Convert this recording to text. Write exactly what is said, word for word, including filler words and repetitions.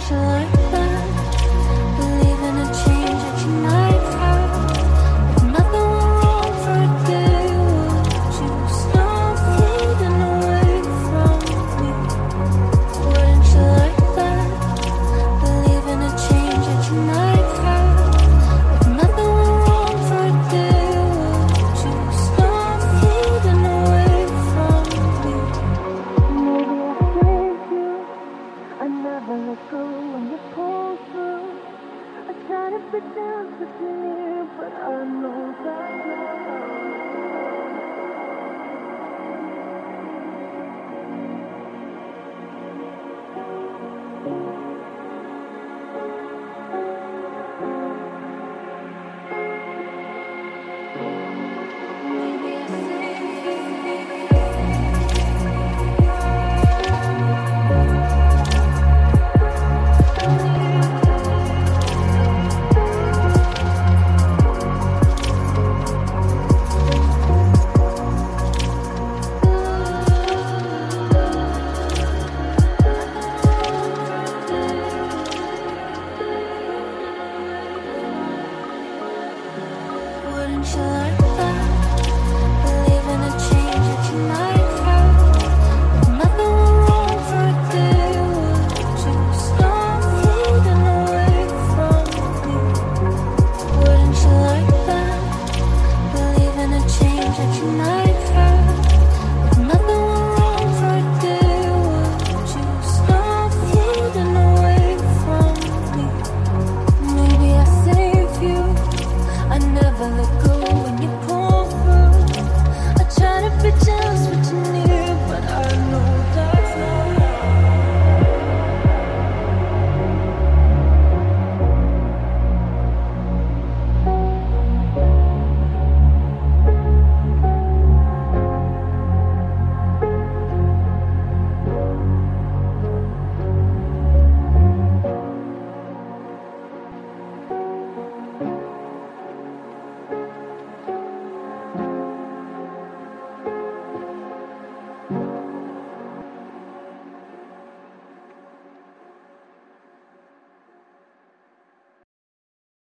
you like that? Believe in a change that you might have. If nothing went wrong for a day, would you stop fading away from me? Wouldn't you like that? Believe in a change that you might have. If nothing went wrong for a day, would you stop fading away from me? Maybe I saved you. I never let go when you pulled through. I try to pretend to be near, but I know that now